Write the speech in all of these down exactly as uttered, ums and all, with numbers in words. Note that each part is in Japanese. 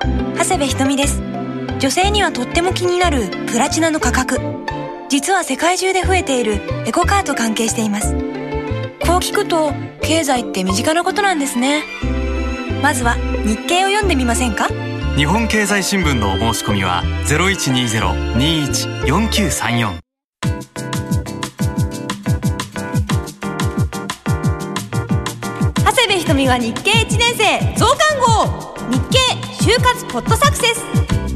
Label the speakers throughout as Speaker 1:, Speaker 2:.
Speaker 1: 長谷部ひとみです。女性にはとっても気になるプラチナの価格、実は世界中で増えているエコカーと関係しています。こう聞くと経済って身近なことなんですね。まずは日経を読んでみませんか。
Speaker 2: 日本経済新聞のお申し込みは ゼロいちにゼロ にいち よんきゅうさんよん。
Speaker 1: 長谷部ひとみが日経いちねん生増刊号、日経就活ポッドサクセス。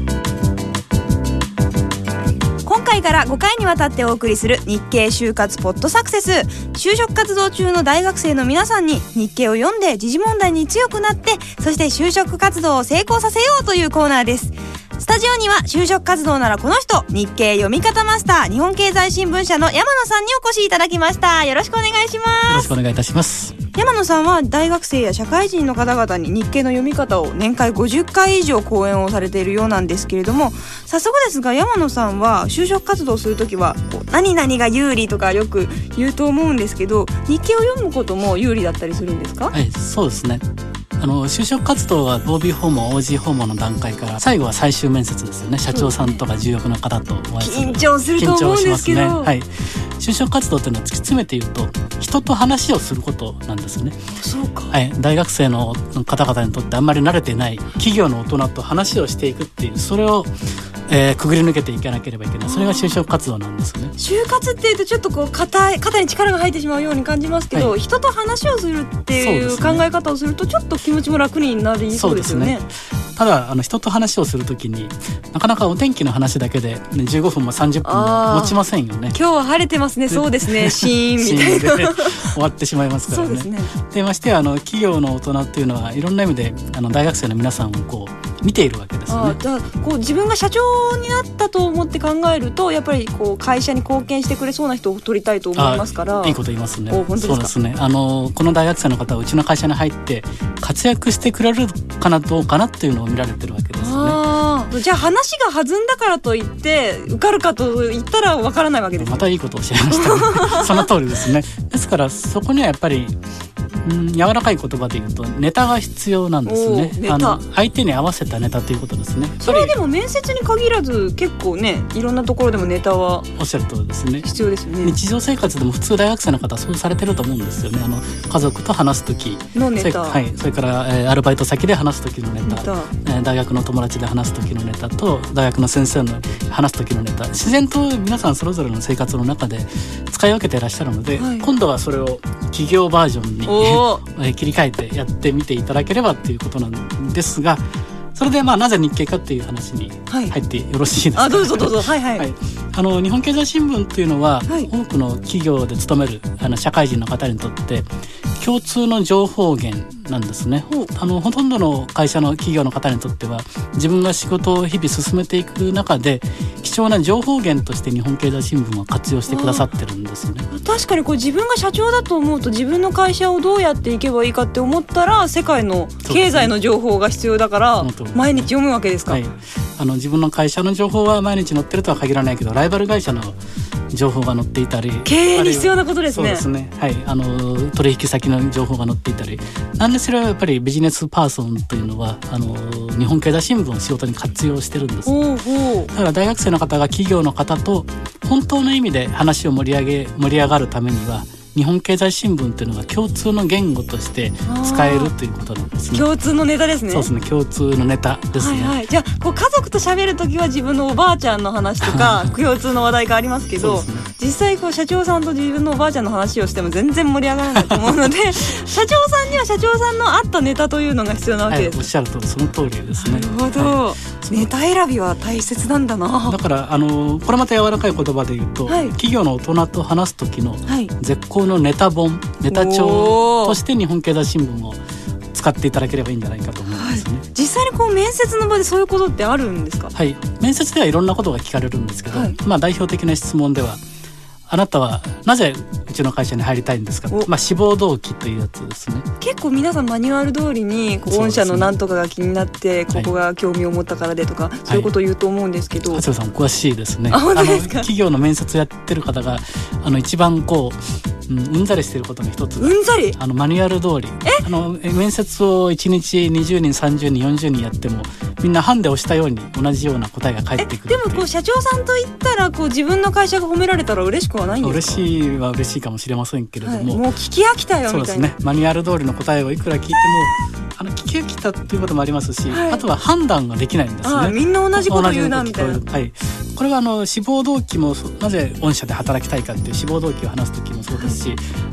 Speaker 1: 今回からごかいにわたってお送りする日経就活ポッドサクセス。就職活動中の大学生の皆さんに日経を読んで時事問題に強くなって、そして就職活動を成功させようというコーナーです。スタジオには就職活動ならこの人、日経読み方マスター、日本経済新聞社の山野さんにお越しいただきました。よろしくお願いします。
Speaker 3: よろしくお願いいたします。
Speaker 1: 山野さんは大学生や社会人の方々に日経の読み方を年間ごじゅっかい以上講演をされているようなんですけれども、早速ですが山野さんは就職活動をするときはこう何々が有利とかよく言うと思うんですけど、日経を読むことも有利だったりするんですか？
Speaker 3: はい、そうですね。あの就職活動は オービー 訪問 オージー 訪問の段階から最後は最終面接ですよね。社長さんとか重役の方とお会いする。
Speaker 1: 緊張すると思うんですけど、
Speaker 3: 緊張しますね。はい、就職活動というのは突き詰めて言うと人と話をすることなんですね。
Speaker 1: そうか、
Speaker 3: はい、大学生の方々にとってあんまり慣れてない企業の大人と話をしていくっていう、それをえー、くぐり抜けていかなければいけない。それが就職活動なんですね。
Speaker 1: 就活っていうとちょっとこう肩い肩に力が入ってしまうように感じますけど、はい、人と話をするっていう考え方をするとちょっと気持ちも楽になりそうですよね。
Speaker 3: そうですね。ただあの人と話をするときになかなかお天気の話だけで、ね、じゅうごふんもさんじゅっぷんも持ちませんよね。
Speaker 1: 今日は晴れてますね。そうですね。シーンみたいな
Speaker 3: 終わってしまいますからね。
Speaker 1: そうですね。
Speaker 3: でましてあの企業の大人っていうのはいろんな意味であの大学生の皆さんをこう見ているわけですよね。
Speaker 1: あだこう自分が社長になったと思って考えるとやっぱりこう会社に貢献してくれそうな人を取りたいと思いますから。
Speaker 3: いいこと言いますね。
Speaker 1: 本当ですか？
Speaker 3: そうですね。あのこの大学生の方はうちの会社に入って活躍してくれるかなどうかなっていうのを見られてるわけですね。
Speaker 1: あじゃあ話が弾んだからといって受かるかと言ったらわからないわけです、ね、
Speaker 3: またいいことをおっしゃいましたね。その通りですね。ですからそこにはやっぱりうん、柔らかい言葉で言うとネタが必要なんですね。あの相手に合わせたネタということですね。
Speaker 1: それはでも面接に限らず結構ね、いろんなところでもネタは
Speaker 3: おっしゃる通りですね。
Speaker 1: 必要ですよね。
Speaker 3: 日常生活でも普通大学生の方はそうされてると思うんですよね。あの家族と話す時
Speaker 1: のネタ、
Speaker 3: それ、はい、それから、えー、アルバイト先で話す時のネタ、ネタ、えー、大学の友達で話す時のネタと大学の先生の話す時のネタ、自然と皆さんそれぞれの生活の中で使い分けていらっしゃるので、はい、今度はそれを企業バージョンに、えー、切り替えてやってみていただければっていうことなんですが、それでまあなぜ日経かっていう話に入ってよろしいですか？
Speaker 1: はい、あどうぞどうぞ。はいはい、
Speaker 3: はい、あの日本経済新聞というのは、はい、多くの企業で勤めるあの社会人の方にとって共通の情報源なんですね。あのほとんどの会社の企業の方にとっては自分が仕事を日々進めていく中で貴重な情報源として日本経済新聞は活用してくださってるんですね。
Speaker 1: 確かにこう自分が社長だと思うと自分の会社をどうやっていけばいいかって思ったら世界の経済の情報が必要だから毎日読むわけですか？
Speaker 3: はい、あの自分の会社の情報は毎日載ってるとは限らないけどライバル会社の情報が載っていたり、
Speaker 1: 経営に必要なことですね。
Speaker 3: そうですね、はい、あの取引先の情報が載っていたり、なんでそれはやっぱりビジネスパーソンというのはあの日本経済新聞を仕事に活用してるんです。
Speaker 1: おうおう。
Speaker 3: だから大学生の方が企業の方と本当の意味で話を盛り上げ盛り上がるためには日本経済新聞というのが共通の言語として使えるということなんですね。
Speaker 1: 共通のネタですね。
Speaker 3: そうですね、共通のネタですね。
Speaker 1: はいはい、じゃあこう家族と喋るときは自分のおばあちゃんの話とか共通の話題がありますけど、ね、実際こう社長さんと自分のおばあちゃんの話をしても全然盛り上がらないと思うので社長さんには社長さんの合ったネタというのが必要なわけです、
Speaker 3: はい、おっしゃるとその通りですね。
Speaker 1: なるほど、はい、ネタ選びは大切なんだな。
Speaker 3: だからあのこれまた柔らかい言葉で言うと、はい、企業の大人と話す時の絶好のネタ本、ネタ帳として日本経済新聞を使っていただければいいんじゃないかと思うんですね。はい、
Speaker 1: 実際にこう面接の場でそういうことってあるんですか？
Speaker 3: はい、面接ではいろんなことが聞かれるんですけど、はい、まあ、代表的な質問ではあなたはなぜうちの会社に入りたいんですか、まあ、志望動機というやつですね。
Speaker 1: 結構皆さんマニュアル通りに御社の何とかが気になって、ね、ここが興味を持ったからでとか、はい、そういうことを言うと思うんですけど、
Speaker 3: 長谷部さんお詳しいですね。
Speaker 1: あ、本当ですか？
Speaker 3: あの企業の面接をやってる方があの一番こう、うん、うんざりしていることの一つ、
Speaker 1: うんざり
Speaker 3: あのマニュアル通りあの面接をいちにちにじゅうにんさんじゅうにんよんじゅうにんやってもみんなハンデをしたように同じような答えが返ってくる。
Speaker 1: でもこう社長さんと言ったらこう自分の会社が褒められたら嬉しくはないんですか？
Speaker 3: 嬉しいは嬉しいかもしれませんけれども、はい、
Speaker 1: もう聞き飽きたよみたいな。
Speaker 3: そうですね、マニュアル通りの答えをいくら聞いてもあの聞き飽きたっていうこともありますし、はい、あとは判断ができないんですね。
Speaker 1: あみんな同じこと言うなみたいな。
Speaker 3: はい、これはあの志望動機もなぜ御社で働きたいかっていう志望動機を話す時もそうですし、はい、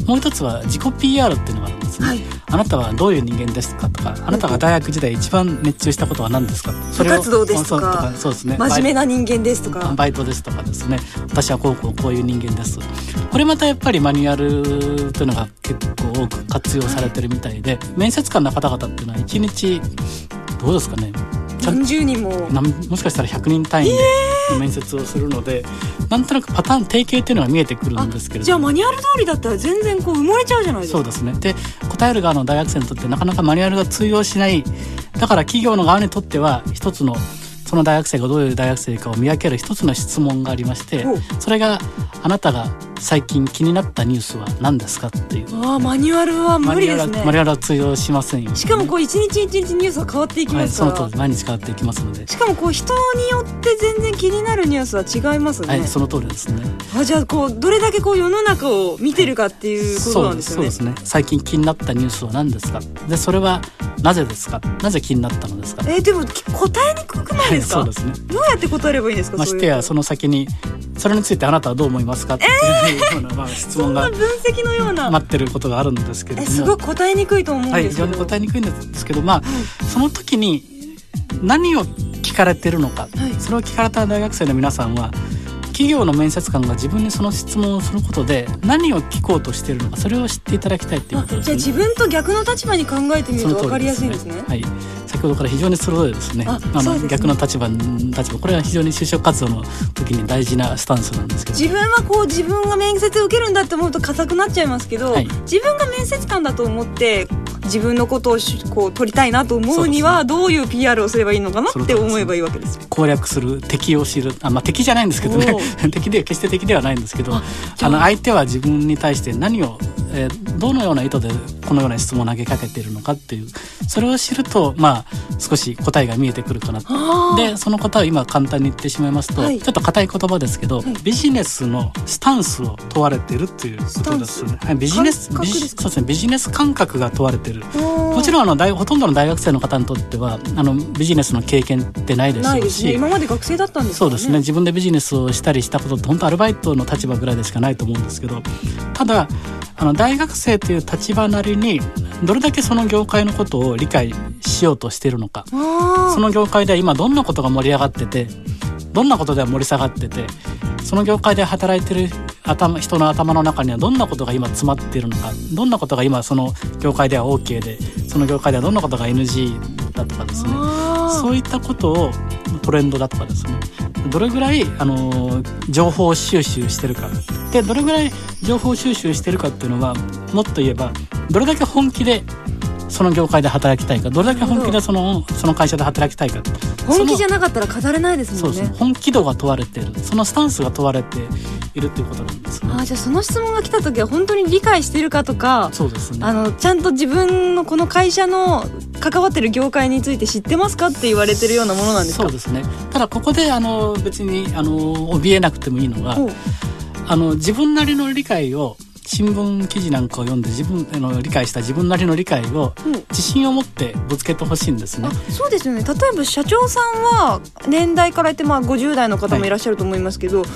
Speaker 3: もう一つは自己 ピーアール っていうのがあるんですね、はい、あなたはどういう人間ですかとか、あなたが大学時代一番熱中したことは何ですか、
Speaker 1: 部活動ですとか、
Speaker 3: そうですね、
Speaker 1: 真面目な人間ですとか、
Speaker 3: バイトですとかですね、私はこうこうこういう人間です。これまたやっぱりマニュアルというのが結構多く活用されてるみたいで、面接官の方々っていうのはいちにちどうですかね、
Speaker 1: 何十人も
Speaker 3: もしかしたらひゃくにん単位で面接をするので、えー、なんとなくパターン定型っていうのが見えてくるんですけれども、
Speaker 1: じゃあマニュアル通りだったら全然こう埋もれちゃうじゃないですか。
Speaker 3: そうですね。で答える側の大学生にとってなかなかマニュアルが通用しない、だから企業の側にとっては一つのその大学生がどういう大学生かを見分ける一つの質問がありまして、それがあなたが最近気になったニュースは何ですかっていう。
Speaker 1: あマニュアルは無理ですね。
Speaker 3: マニュアルは通用しませんよ、ね、
Speaker 1: しかもこう一日一日ニュースは変わっていきますから、
Speaker 3: はい、その通り毎日変わっていきますので、
Speaker 1: しかもこう人によって全然気になるニュースは違いますね。
Speaker 3: はい、その通りですね。
Speaker 1: あじゃあこうどれだけこう世の中を見てるかっていうことなんですよね。
Speaker 3: そうですね。最近気になったニュースは何ですか、でそれはなぜですか、なぜ気になったのですか。
Speaker 1: えー、でも答えにくくないですか、
Speaker 3: はい、そうですね。
Speaker 1: どうやって答えればいいんですか。
Speaker 3: ましてやその先にそれについてあなたはどう思いますかっていうような、まあ、質問が
Speaker 1: そんな分析のような
Speaker 3: 待ってることがあるんですけれども、
Speaker 1: えすごく答えにくいと思うんですけど、
Speaker 3: はい、非常に答えにくいんですけど、まあ、はい、その時に何を聞かれてるのか、はい、それを聞かれた大学生の皆さんは企業の面接官が自分にその質問をすることで何を聞こうとしているのか、それを知っていただきたいということですね。
Speaker 1: じゃあ自分と逆の立場に考えてみると分かりやすいですね。
Speaker 3: はい、先ほどから非常に鋭いですね。ああの、ね、逆の立場立場これは非常に就職活動の時に大事なスタンスなんですけど、
Speaker 1: 自分はこう自分が面接を受けるんだって思うと硬くなっちゃいますけど、はい、自分が面接官だと思って自分のことをこう取りたいなと思うにはどういう ピーアール をすればいいのかなって思えばいいわけです。
Speaker 3: 攻略する、敵を知る、あ、まあ、敵じゃないんですけどね敵で決して敵ではないんですけど、ああの相手は自分に対して何を、えー、どのような意図でこのような質問を投げかけているのかっていう、それを知ると、まあ、少し答えが見えてくるかなと。でその答えを今簡単に言ってしまいますと、はい、ちょっと硬い言葉ですけど、はい、ビジネスのスタンスを問われているっていうことですね。はい、ビジネスビジ、そうですね、ビジネス感覚が問われている。もちろんあの大ほとんどの大学生の方にとってはあのビジネスの経験ってないでしょうし、ないですね。
Speaker 1: 今まで学生だったんですからね。
Speaker 3: そうですね。自分でビジネスをしたりしたことって本当アルバイトの立場ぐらいでしかないと思うんですけど、ただあの大学生という立場なりにどれだけその業界のことを理解しようとしているのか、その業界では今どんなことが盛り上がってて、どんなことでは盛り下がってて、その業界で働いてる頭人の頭の中にはどんなことが今詰まっているのか、どんなことが今その業界では OK で、その業界ではどんなことが エヌジー だとかですね、そういったことをトレンドだとかですね、どれぐらいあの情報収集してるかで、どれぐらい情報収集してるかっていうのは、もっと言えばどれだけ本気でその業界で働きたいか、どれだけ本気でその、その会社で働きたいか。
Speaker 1: 本気じゃなかったら語れないですもんね。
Speaker 3: そうです。本気度が問われている、そのスタンスが問われているということなんですね。
Speaker 1: あ、じゃあその質問が来た時は本当に理解しているかとか、
Speaker 3: そうですね、
Speaker 1: あのちゃんと自分のこの会社の関わってる業界について知ってますかって言われてるようなものなんですか。
Speaker 3: そうですね。ただここであの別にあの怯えなくてもいいのが、あの自分なりの理解を、新聞記事なんかを読んで自分あの理解した自分なりの理解を自信を持ってぶつけてほしいんですね。
Speaker 1: あ、そうですよね。例えば社長さんは年代から言ってまあごじゅう代の方もいらっしゃると思いますけど、はい、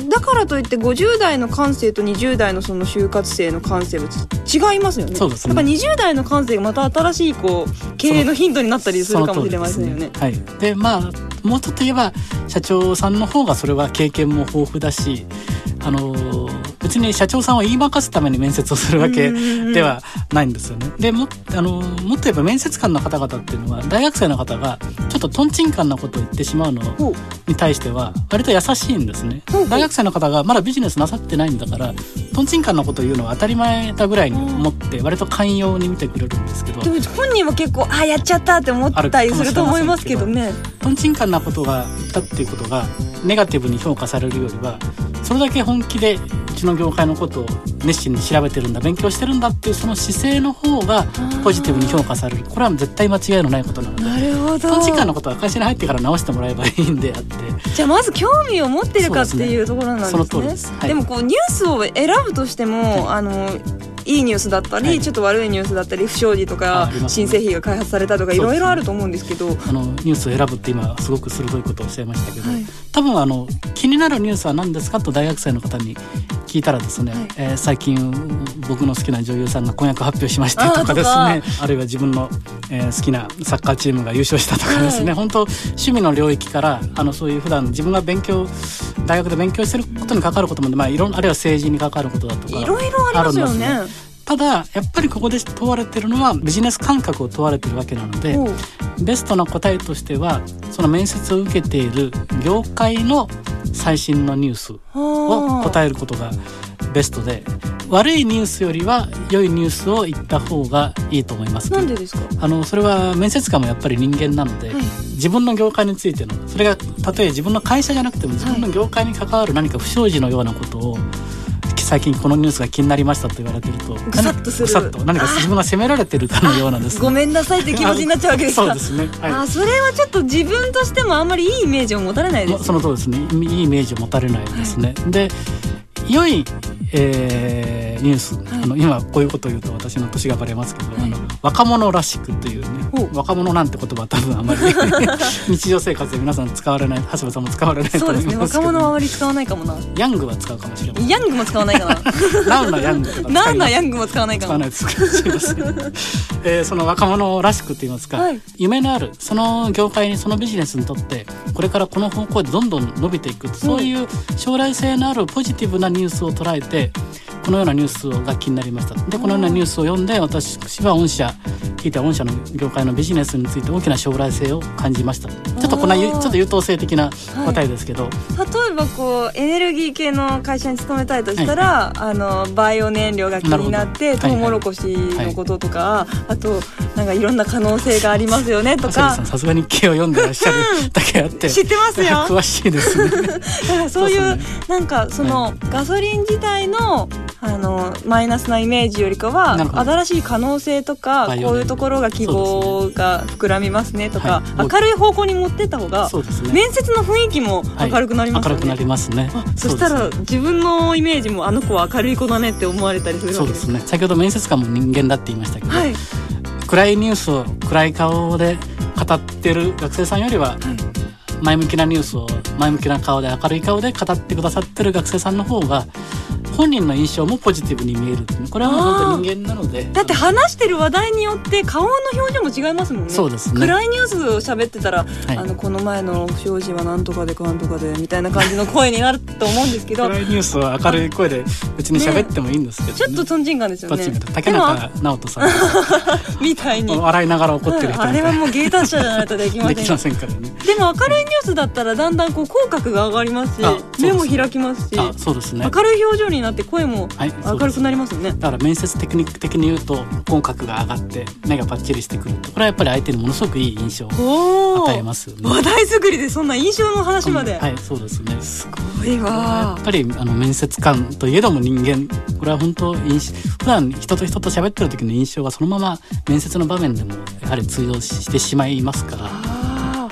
Speaker 1: だからといってごじゅう代の感性とにじゅう代のその就活生の感性は違いますよね。
Speaker 3: そうですね。
Speaker 1: やっぱにじゅう代の感性がまた新しいこう経営のヒントになったりするかもしれませんよね。
Speaker 3: はい。でまあもうちょっと言えば社長さんの方がそれは経験も豊富だし、あの別に社長さんを言いまかすために面接をするわけではないんですよね。で も, あのもっと言えば面接官の方々っていうのは大学生の方がちょっとトンチンカンなことを言ってしまうのに対しては割と優しいんですね。大学生の方がまだビジネスなさってないんだからトンチンカンなことを言うのは当たり前だぐらいに思って割と寛容に見てくれるんですけど、
Speaker 1: でも本人は結構あやっちゃったって思ったりすると思いますけどね。
Speaker 3: トンチンカンなことが言ったっていうことがネガティブに評価されるよりは、それだけ本気でちの業界のことを熱心に調べてるんだ、勉強してるんだっていうその姿勢の方がポジティブに評価される。これは絶対間違いのないことなので、
Speaker 1: なるほど。
Speaker 3: 短時間のことは会社に入ってから直してもらえばいいんであって、
Speaker 1: じゃあまず興味を持ってるかっていうところなんですね。
Speaker 3: その通りです、はい、
Speaker 1: でもこうニュースを選ぶとしても、はい、あのいいニュースだったり、はい、ちょっと悪いニュースだったり、不祥事とか、ね、新製品が開発されたとかいろいろあると思うんですけど、
Speaker 3: あのニュースを選ぶって今すごく鋭いことをおっしゃいましたけど、はい、多分あの気になるニュースは何ですかと大学生の方に聞いたらですね、はい、えー、最近僕の好きな女優さんが婚約発表しましたとかですね、 あ, あるいは自分の、えー、好きなサッカーチームが優勝したとかですね、はい、本当趣味の領域からあのそういう普段自分が勉強大学で勉強してることに関わることも、まあ、いろんあるいは政治に関わることだとか
Speaker 1: いろいろありますよね。
Speaker 3: ただやっぱりここで問われてるのはビジネス感覚を問われてるわけなので、ベストな答えとしてはその面接を受けている業界の最新のニュースを答えることがベストで、悪いニュースよりは良いニュースを言った方がいいと思います。
Speaker 1: なんでですか？
Speaker 3: あのそれは面接官もやっぱり人間なので、はい、自分の業界についての、それがたとえ自分の会社じゃなくても自分の業界に関わる何か不祥事のようなことを、最近このニュースが気になりましたと言われてると
Speaker 1: ぐさっとする、
Speaker 3: ぐさっと何か自分が責められてるかのようなですね、
Speaker 1: ごめんなさいって気持ちになっちゃうわけですか？
Speaker 3: そうですね、はい、
Speaker 1: あ、それはちょっと自分としてもあんまりいいイメージを持たれないですね。
Speaker 3: その通りですね、いいイメージを持たれないですね、はい、で良い、えー、ニュース、はい、あの今こういうことを言うと私の年がバレますけど、はい、あの若者らしくというね、若者なんて言葉は多分あまり日常生活で皆さん使われない、橋場さんも使われないと思いますけど、
Speaker 1: そうですね、若者はあまり使わないかもな。
Speaker 3: ヤングは使うかもしれません。
Speaker 1: ヤングも使わないかな
Speaker 3: ナウなヤングとか使います。
Speaker 1: ナウなヤングも使わないかも。
Speaker 3: 使わないですすいません、えー、その若者らしくと言いますか、はい、夢のあるその業界にそのビジネスにとってこれからこの方向でどんどん伸びていく、そういう将来性のあるポジティブなニュースを捉えて、このようなニュースが気になりました。でこのようなニュースを読んで私は御社聞いて御社の業界のビジネスについて大きな将来性を感じました。ちょっとこんなちょっと優等生的な答えですけど、はい、
Speaker 1: 例えばこうエネルギー系の会社に勤めたいとしたら、はい、あのバイオ燃料が気になってトウモロコシのこととか、はいはい、あとなんかいろんな可能性がありますよねとか、
Speaker 3: さすがに日記を読んでらっしゃるだけあって
Speaker 1: 知ってますよ
Speaker 3: 詳しいですね
Speaker 1: だからそういう、ね、なんかその、はい、ガソリン自体のあのマイナスなイメージよりかは新しい可能性とか、こういうところが希望が膨らみますねとか、はい、明るい方向に持ってった方が、ね、面接の雰囲気も明るくなりますよね、
Speaker 3: はい、明るくなりますね。
Speaker 1: そしたら自分のイメージもあの子は明るい子だねって思われたりするわけです。
Speaker 3: そうですね、先ほど面接官も人間だって言いましたけど、はい、暗いニュースを暗い顔で語ってる学生さんよりは、はい、前向きなニュースを前向きな顔で明るい顔で語ってくださってる学生さんの方が本人の印象もポジティブに見える。これは本当に人間なので、
Speaker 1: だって話してる話題によって顔の表情も違いますもんね。
Speaker 3: そうですね、
Speaker 1: 暗いニュースを喋ってたら、はい、あのこの前の不祥事はなんとかでかんとかでみたいな感じの声になると思うんですけど
Speaker 3: 暗いニュースは明るい声で別に喋ってもいいんですけど、ねね、
Speaker 1: ちょっとトンチンカンですよね。
Speaker 3: 竹中直人さん
Speaker 1: みたいに
Speaker 3: 笑いながら怒ってる人みたいな、
Speaker 1: あれはもう芸達者じゃないとできません
Speaker 3: できませんからね。
Speaker 1: でも明るいニュースだったらだんだんこう口角が上がりますし、目も開きますし、
Speaker 3: あ、そうですね、
Speaker 1: 明るい表情になって声も明るくなりますよね。
Speaker 3: だから面接テクニック的に言うと口角が上がって目がパッチリしてくると、これはやっぱり相手にものすごくいい印象を与えますよね。
Speaker 1: 話題作りでそんな印象の話まで、
Speaker 3: うん、はい、そうですね、
Speaker 1: すごいわ。
Speaker 3: やっぱりあの面接官といえども人間、これは本当印普段人と人と喋ってる時の印象がそのまま面接の場面でもやはり通用してしまいますから、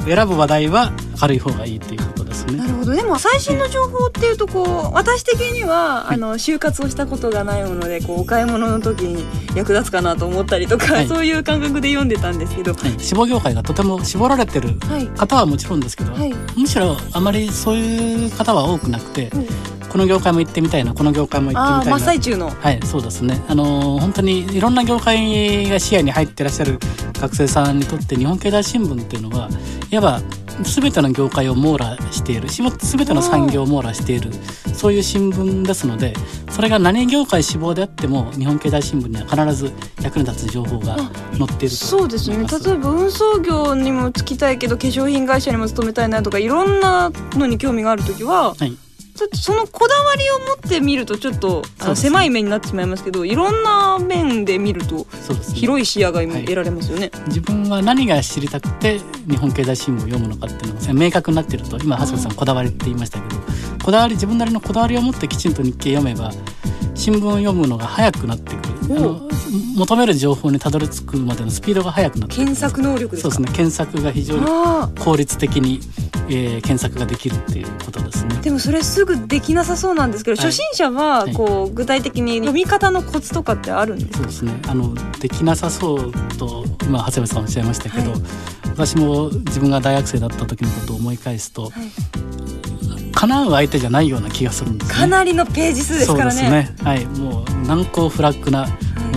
Speaker 3: 選ぶ話題は明るい方がいいということですね。
Speaker 1: なるほど。でも最新の情報っていうとこう私的には、はい、あの就活をしたことがないものでこうお買い物の時に役立つかなと思ったりとか、はい、そういう感覚で読んでたんですけど、はい、
Speaker 3: 志望業界がとても絞られてる方はもちろんですけど、はい、むしろあまりそういう方は多くなくて、はい、この業界も行ってみたいな、この業界も行ってみたいな、
Speaker 1: あ、真っ最中の、
Speaker 3: はい、そうですね、あのー、本当にいろんな業界が視野に入ってらっしゃる学生さんにとって日本経済新聞っていうのはいわば全ての業界を網羅している、全ての産業を網羅している、そういう新聞ですので、それが何業界志望であっても日本経済新聞には必ず役に立つ情報が載っていると思います。
Speaker 1: そうですね、例えば運送業にも就きたいけど化粧品会社にも勤めたいなとかいろんなのに興味があるときは、はい、ちょっとそのこだわりを持って見るとちょっとあの狭い目になってしまいますけど、いろんな面で見ると広い視野が得られますよね。
Speaker 3: はい、自分は何が知りたくて日本経済新聞を読むのかっていうのが明確になっていると、今橋本さんこだわりって言いましたけど、 こだわり自分なりのこだわりを持ってきちんと日経読めば新聞を読むのが早くなってくる、あの求める情報にたどり着くまでのスピードが速くなってくる。
Speaker 1: 検索能力ですか？
Speaker 3: そうですね、検索が非常に効率的に、えー、検索ができるっていうことですね。
Speaker 1: でもそれすぐできなさそうなんですけど、はい、初心者はこう、はい、具体的に読み方のコツとかってあるんですか？
Speaker 3: そうですね、あのできなさそうと今長谷部さんおっしゃいましたけど、はい、私も自分が大学生だった時のことを思い返すと、はい、叶う相手じゃないような気がするんですね。
Speaker 1: かなりのページ数ですからね。
Speaker 3: そうですね、はい、もう難攻不落な、はい、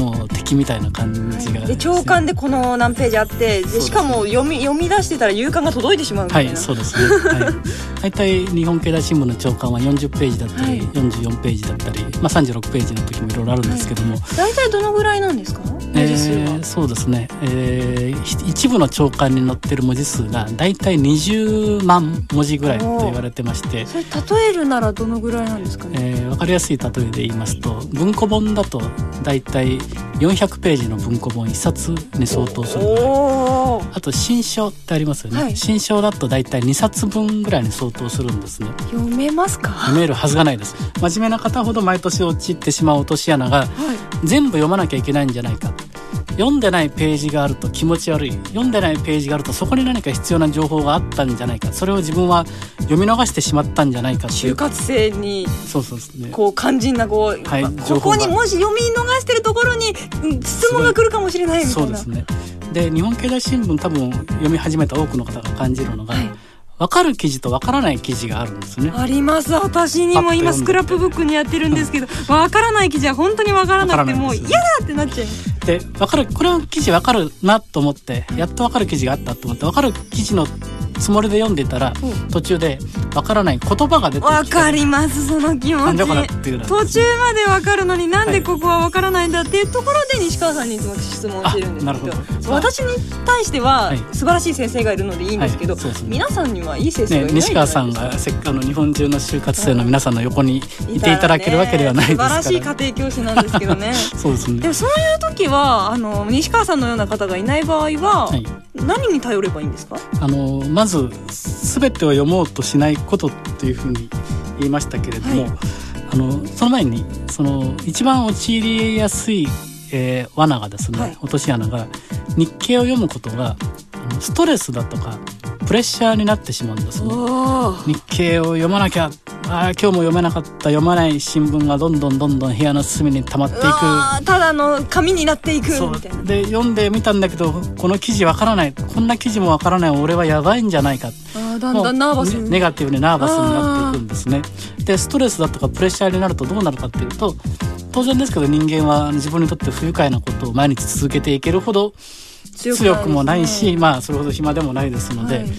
Speaker 3: もう敵みたいな感じが、
Speaker 1: はい、で長官でこの何ページあってでしかも読み、読み出してたら夕刊が届いてしまうみたいな。
Speaker 3: はい、そうですね、はい、大体日本経済新聞の長官はよんじゅっページだったり、はい、よんじゅうよんページだったり、まあ、さんじゅうろくページの時もいろいろあるんですけども、はい、
Speaker 1: 大体どのぐらいなんですか？文字数は、えー、
Speaker 3: そうですね、えー、一部の長官に載ってる文字数が大体にじゅうまん文字ぐらいと言われてまして、
Speaker 1: それ例えるならどのぐらいなんですかね？
Speaker 3: えー、分かりやすい例えで言いますと、文庫本だと大体よんひゃくページの文庫本いっさつに相当するぐらい。あと新書ってありますよね、はい、新書だと大体にさつぶんぐらいに相当するんですね。
Speaker 1: 読めますか？
Speaker 3: 読めるはずがないです。真面目な方ほど毎年陥ってしまう落とし穴が、はい、全部読まなきゃいけないんじゃないか、読んでないページがあると気持ち悪い、読んでないページがあるとそこに何か必要な情報があったんじゃないか、それを自分は読み逃してしまったんじゃないかっていう
Speaker 1: 就活生に
Speaker 3: そうそうですね、
Speaker 1: こう肝心なこう、はい、ここにもし読み逃してるところに質問が来るかもしれないみたいな。
Speaker 3: そうですね。で日本経済新聞多分読み始めた多くの方が感じるのが、はい、分かる記事と分からない記事があるんですね。
Speaker 1: あります。私にも今スクラップブックにやってるんですけど分からない記事は本当に分からなくてもう嫌だってなっちゃう。
Speaker 3: で分かる、これは記事分かるなと思ってやっと分かる記事があったと思って分かる記事のつもりで読んでたら、うん、途中で分からない言葉が出てきて、
Speaker 1: 分かりますその気持ち。途中まで分かるのになんでここは分からないんだっていうところで西川さんにいつも質問してるんですけ ど, ど私に対しては素晴らしい先生がいるのでいいんですけど、はいはいね、皆さんにはいい先生がいないんじゃないですか、
Speaker 3: ね、西川さんがせっかく日本中の就活生の皆さんの横にいていただけるわけではないですから、
Speaker 1: ね、素晴らしい家庭教師なんですけどね
Speaker 3: そうですね。
Speaker 1: でもそういう時はあの西川さんのような方がいない場合は、はい、何に頼ればいいんですか？
Speaker 3: あのまず全てを読もうとしないことっていうふうに言いましたけれども、はい、あのその前にその一番陥りやすい、えー、罠がですね、はい、落とし穴が日経を読むことがあのストレスだとかプレッシャーになってしまうんですね。日経を読まなきゃ、あ今日も読めなかった、読まない新聞がどんどんどんどん部屋の隅に溜まっていく、
Speaker 1: ただの紙になっていくみたいな。
Speaker 3: で読んでみたんだけどこの記事わからない、こんな記事もわからない、俺はやばいんじゃないか、
Speaker 1: あだんだんナーバスに
Speaker 3: ネガティブにナーバスになっていくんですね。でストレスだとかプレッシャーになるとどうなるかっていうと、当然ですけど人間は自分にとって不愉快なことを毎日続けていけるほど強くもないし、まあそれほど暇でもないですので、はい、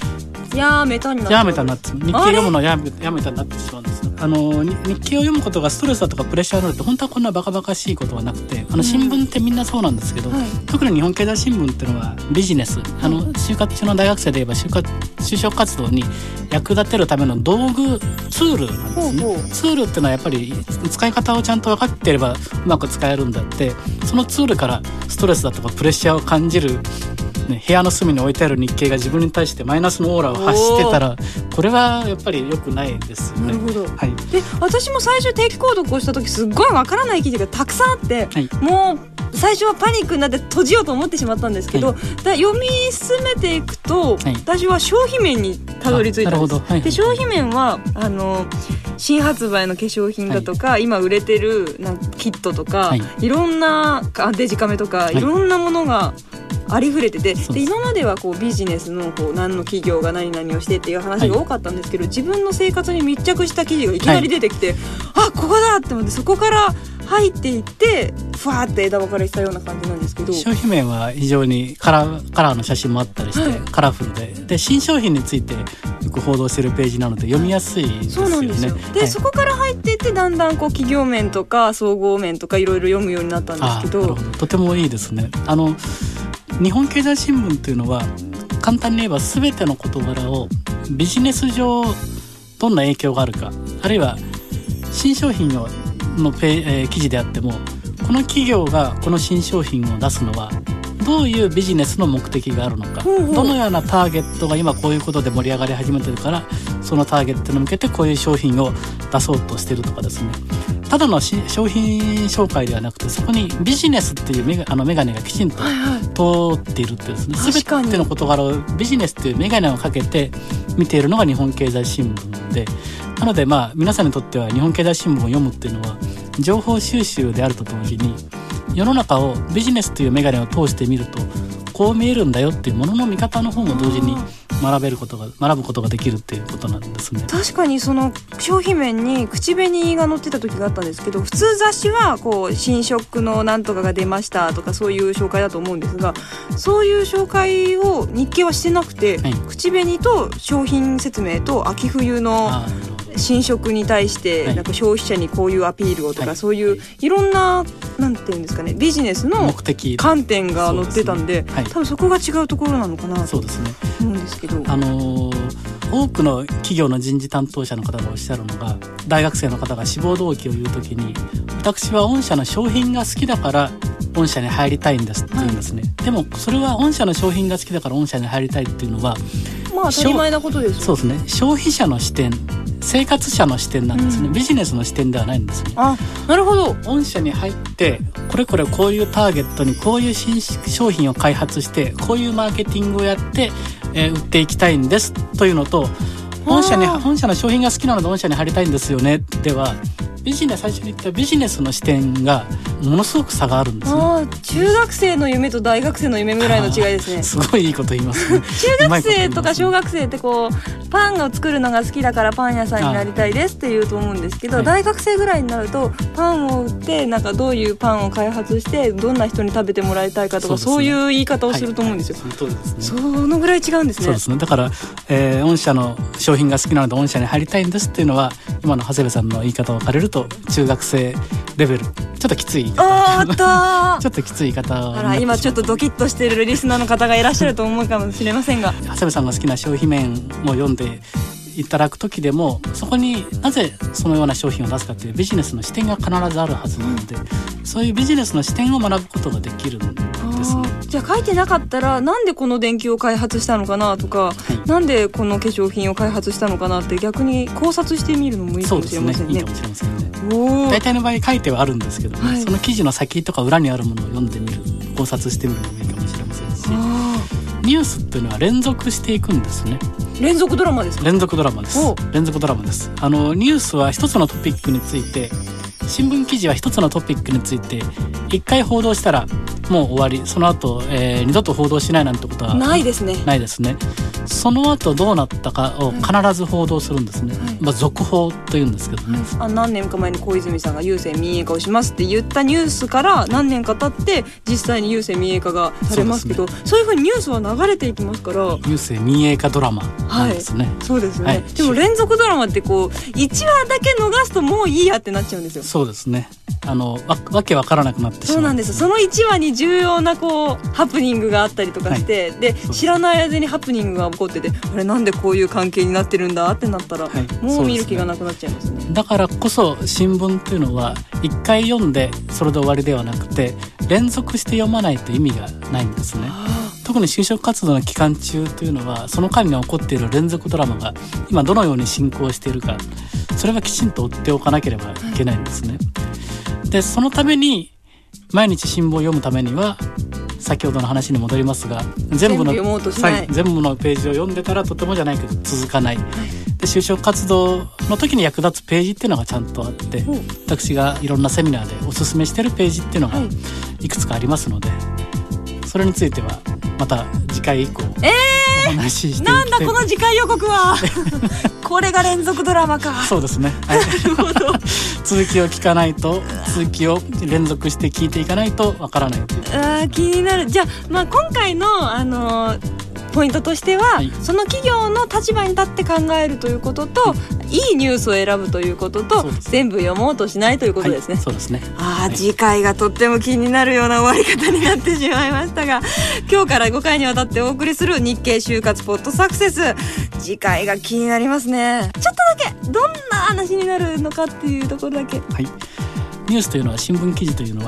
Speaker 1: やめたになって
Speaker 3: やめたになって日経読むのをやめ、やめたになってしまうんです。あの日経を読むことがストレスだとかプレッシャーになるって本当はこんなバカバカしいことはなくて、あの新聞ってみんなそうなんですけど、うんはい、特に日本経済新聞っていうのはビジネス、あの就活中の大学生で言えば就活就職活動に役立てるための道具ツールなんですね。ほうほう。ツールっていうのはやっぱり使い方をちゃんと分かっていればうまく使えるんだって、そのツールからストレスだとかプレッシャーを感じるね、部屋の隅に置いてある日経が自分に対してマイナスのオーラを発してたらこれはやっぱり良くないですよね。
Speaker 1: なるほど、はい、で私も最初定期購読をした時すっごいわからない記事がたくさんあって、はい、もう最初はパニックになって閉じようと思ってしまったんですけど、はい、だ読み進めていくと、はい、私は消費面にたどり着いたんです。はい、で消費面はあの新発売の化粧品だとか、はい、今売れてるなんかキットとか、はい、いろんなデジカメとか、はい、いろんなものがありふれてて、で今まではこうビジネスのこう何の企業が何々をしてっていう話が多かったんですけど、はい、自分の生活に密着した記事がいきなり出てきて、はい、あここだって思ってそこから入っていってふわーって枝分かれしたような感じなんですけど、
Speaker 3: 商品面は非常にカラー、カラーの写真もあったりして、はい、カラフル で, で新商品についてよく報道しているページなので読みやすいですよね。そうなんですよ。
Speaker 1: で、
Speaker 3: はい、
Speaker 1: そこから入っていってだんだんこう企業面とか総合面とかいろいろ読むようになったんですけど、
Speaker 3: あなるほど、とてもいいですね。あの日本経済新聞というのは簡単に言えば全ての事柄をビジネス上どんな影響があるか、あるいは新商品ののペ、えー、記事であってもこの企業がこの新商品を出すのはどういうビジネスの目的があるのか、
Speaker 1: ほうほう
Speaker 3: どのようなターゲットが今こういうことで盛り上がり始めてるから、そのターゲットに向けてこういう商品を出そうとしてるとかですね、ただのし商品紹介ではなくて、そこにビジネスっていうメガあのメガネがきちんと通っているってですね、
Speaker 1: 確かに
Speaker 3: 全ての事柄をビジネスっていうメガネをかけて見ているのが日本経済新聞で、なのでまあ皆さんにとっては日本経済新聞を読むっていうのは情報収集であると同時に、世の中をビジネスというメガネを通して見るとこう見えるんだよっていうものの見方の方も同時に学べることが学ぶことができるっていうことなんですね。
Speaker 1: 確かにその商品面に口紅が載ってた時があったんですけど、普通雑誌はこう新色のなんとかが出ましたとかそういう紹介だと思うんですが、そういう紹介を日経はしてなくて、はい、口紅と商品説明と秋冬の新色に対してなんか消費者にこういうアピールをとか、はい、そういういろんななんていうんですかね、ビジネスの観点が載ってたんで、はい、多分そこが違うところなのかなと思うんですけど、
Speaker 3: あのー、多くの企業の人事担当者の方がおっしゃるのが、大学生の方が志望動機を言うときに、私は御社の商品が好きだから御社に入りたいんですって言うんですね、はい、でもそれは御社の商品が好きだから御社に入りたいっていうのは
Speaker 1: まあ当たり前なことですよ。
Speaker 3: そうですね、消費者の視点、生活者の視点なんですね、うん、ビジネスの視点ではないんですね。
Speaker 1: あ、なるほど。
Speaker 3: 御社に入ってこれこれこういうターゲットにこういう新商品を開発してこういうマーケティングをやって、えー、売っていきたいんですというのと、御社に御社の商品が好きなので御社に入りたいんですよねでは、ビジネス最初に言ったビジネスの視点がものすごく差があるんですね。
Speaker 1: あ、中学生の夢と大学生の夢ぐらいの違いですね。
Speaker 3: すごいいいこと言いますね。
Speaker 1: 中学生とか小学生ってこうパンを作るのが好きだからパン屋さんになりたいですって言うと思うんですけど、はい、大学生ぐらいになるとパンを売ってなんかどういうパンを開発してどんな人に食べてもらいたいかとか、そういう言い方をすると思うんですよ。
Speaker 3: はいはい、その通りですね。
Speaker 1: そのぐらい違うんですね。
Speaker 3: そうですね。だから、えー、御社の商品が好きなので御社に入りたいんですっていうのは、今の長谷部さんの言い方を借りると中学生レベル、ちょっときつい言い方、
Speaker 1: おーっと
Speaker 3: ちょっときつい言い方を、
Speaker 1: あら、今ちょっとドキッとしているリスナーの方がいらっしゃると思うかもしれませんが、
Speaker 3: 長谷部さんが好きな商品面を読んでいただく時でも、そこになぜそのような商品を出すかというビジネスの視点が必ずあるはずなので、うん、そういうビジネスの視点を学ぶことができるんですね。
Speaker 1: じゃあ書いてなかったらなんでこの電球を開発したのかなとか、はい、なんでこの化粧品を開発したのかなって逆に考察してみるのもいいかもしれませんね。
Speaker 3: そうですね、いいかもしれませんね。大体の場合書いてはあるんですけど、ね、はい、その記事の先とか裏にあるものを読んでみる、考察してみるのもいいかもしれませんし、ニュースっていうのは連続していくんですね。
Speaker 1: 連続ドラマですか？
Speaker 3: 連続ドラマです。連続ドラマです。あのニュースは一つのトピックについて、新聞記事は一つのトピックについて一回報道したらもう終わり、その後、えー、二度と報道しないなんてことは
Speaker 1: ないですね。
Speaker 3: ないですね。その後どうなったかを必ず報道するんですね、はい、まあ、続報というんですけどね、はい、
Speaker 1: あ何年か前に小泉さんが郵政民営化をしますって言ったニュースから何年か経って実際に郵政民営化がされますけど、 そうですね、そういうふうにニュースは流れていきますから、
Speaker 3: 郵政民営化ドラマなんですね、
Speaker 1: はい、そうですね、はい、でも連続ドラマってこういちわだけ逃すともういいやってなっちゃうんですよ。
Speaker 3: そうですね、あの わ, わけわからなくなってしまう。
Speaker 1: そうなんです。そのいちわに重要なこうハプニングがあったりとかして、はい、で知らない間にハプニングが起こってて、あれなんでこういう関係になってるんだってなったら、はい、もう見る気がなくなっちゃいますね。
Speaker 3: だからこそ新聞っていうのはいっかい読んでそれで終わりではなくて、連続して読まないと意味がないんですね。特に就職活動の期間中というのは、その間に起こっている連続ドラマが今どのように進行しているか、それはきちんと追っておかなければいけないんですね。でそのために毎日新聞を読むためには、先ほどの話に戻りますが、全部の
Speaker 1: 全部読もうとしない、
Speaker 3: 全部のページを読んでたらとてもじゃないけど続かない、はい、で就職活動の時に役立つページっていうのがちゃんとあって、私がいろんなセミナーでおすすめしてるページっていうのがいくつかありますので、それについてはまた次回以降、えーお話ししていきたい。
Speaker 1: なんだこの次回予告はこれが連続ドラマか。
Speaker 3: そうですね、はい、なるほど続きを聞かないと、続きを連続して聞いていかないとわからないという。
Speaker 1: あ気になる。じゃあ、まあ、今回の、あのー、ポイントとしては、はい、その企業の立場に立って考えるということと、いいニュースを選ぶということと、全部読もうとしないということですね、
Speaker 3: はい、そうですね。
Speaker 1: あ、
Speaker 3: はい、
Speaker 1: 次回がとっても気になるような終わり方になってしまいましたが、今日からごかいにわたってお送りする日経就活ポッドサクセス、次回が気になりますね。ちょっとだけどんな話になるのかっていうところだけ。
Speaker 3: はい、ニュースというのは、新聞記事というのは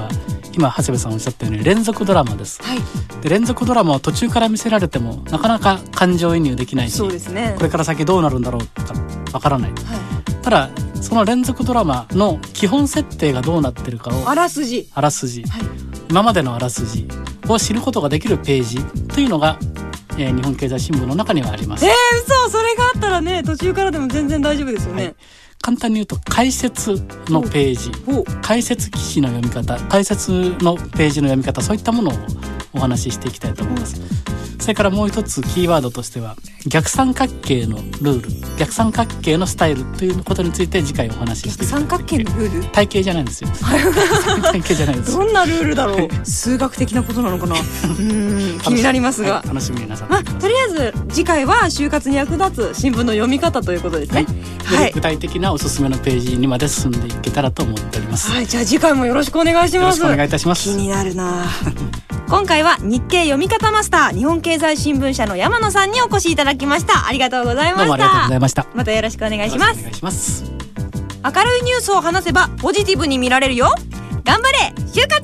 Speaker 3: 今長谷部さんおっしゃったように連続ドラマです、はい、で連続ドラマを途中から見せられてもなかなか感情移入できないし、
Speaker 1: そうですね、
Speaker 3: これから先どうなるんだろうとかわからない、はい、ただその連続ドラマの基本設定がどうなってるかを
Speaker 1: あらすじ
Speaker 3: あらすじ、
Speaker 1: はい、
Speaker 3: 今までのあらすじを知ることができるページというのが、えー、日本経済新聞の中にはあります。
Speaker 1: えー、嘘、それがあったらね途中からでも全然大丈夫ですよね、はい、
Speaker 3: 簡単に言うと解説のページ、解説記事の読み方、解説のページの読み方、そういったものをお話ししていきたいと思います。それからもう一つキーワードとしては逆三角形のルール、逆三角形のスタイルということについて次回お話ししていきたい。
Speaker 1: 逆三角形のルール、
Speaker 3: 体系じゃないんですよ体系じゃないです。
Speaker 1: どんなルールだろう数学的なことなのかなうん気になりますが、
Speaker 3: はい、楽しみになさってください。
Speaker 1: とりあえず次回は就活に役立つ新聞の読み方ということですね、
Speaker 3: はいはい、具体的なおすすめのページにまで進んでいけたらと思っております。
Speaker 1: はい、じゃあ次回もよろしくお願いします。
Speaker 3: よろしくお願いいたします。
Speaker 1: 気になるな今回は日経読み方マスター日本経済新聞社の山野さんにお越しいただきました。ありがとうございました。
Speaker 3: どうもありがとうございました。
Speaker 1: またよろしくお願いします。
Speaker 3: お願いします。
Speaker 1: 明るいニュースを話せばポジティブに見られるよ。頑張れ就活。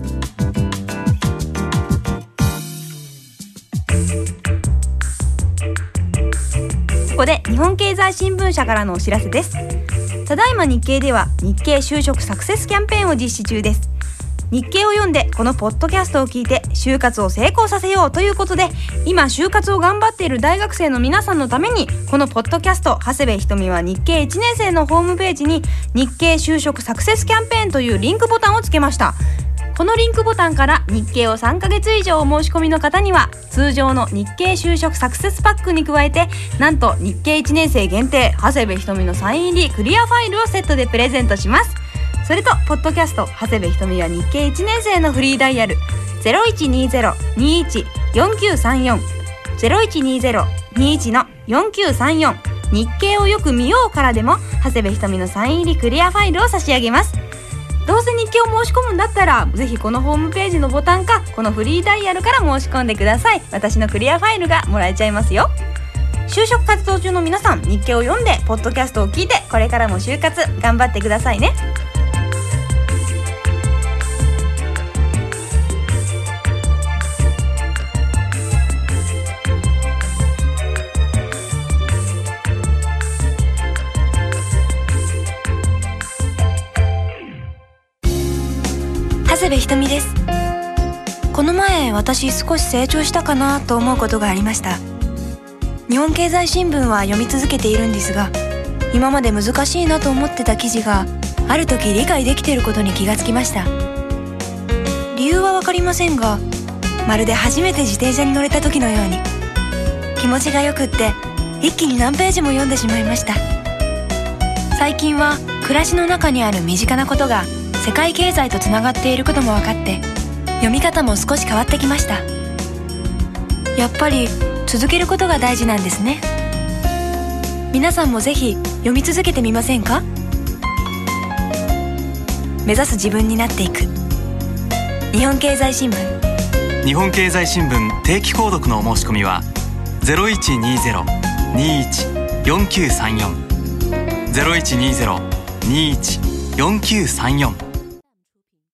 Speaker 1: ここで日本経済新聞社からのお知らせです。ただいま日経では日経就職サクセスキャンペーンを実施中です。日経を読んでこのポッドキャストを聞いて就活を成功させようということで、今就活を頑張っている大学生の皆さんのためにこのポッドキャスト長谷部ひとみは日経いちねん生のホームページに日経就職サクセスキャンペーンというリンクボタンをつけました。このリンクボタンから日経をさんかげつ以上お申し込みの方には通常の日経就職サクセスパックに加えて、なんと日経いちねん生限定長谷部ひとみのサイン入りクリアファイルをセットでプレゼントします。それとポッドキャスト長谷部ひとみは日経いちねん生のフリーダイヤル ゼロいちにゼロ にいち よんきゅうさんよん ゼロいちにゼロ にいち のよんきゅうさんよん日経をよく見ようからでも長谷部ひとみのサイン入りクリアファイルを差し上げます。どうせ日経を申し込むんだったらぜひこのホームページのボタンかこのフリーダイヤルから申し込んでください。私のクリアファイルがもらえちゃいますよ。就職活動中の皆さん、日経を読んでポッドキャストを聞いてこれからも就活頑張ってくださいね。長谷部ひとみです。この前私少し成長したかなと思うことがありました。日本経済新聞は読み続けているんですが、今まで難しいなと思ってた記事がある時理解できていることに気がつきました。理由はわかりませんが、まるで初めて自転車に乗れた時のように気持ちがよくって一気に何ページも読んでしまいました。最近は暮らしの中にある身近なことが世界経済とつながっていることも分かって読み方も少し変わってきました。やっぱり続けることが大事なんですね。皆さんもぜひ読み続けてみませんか？目指す自分になっていく。日本経済新聞。
Speaker 2: 日本経済新聞定期購読のお申し込みは ゼロいちにゼロ にいち よんきゅうさんよん ゼロいちにゼロ にいち よんきゅうさんよん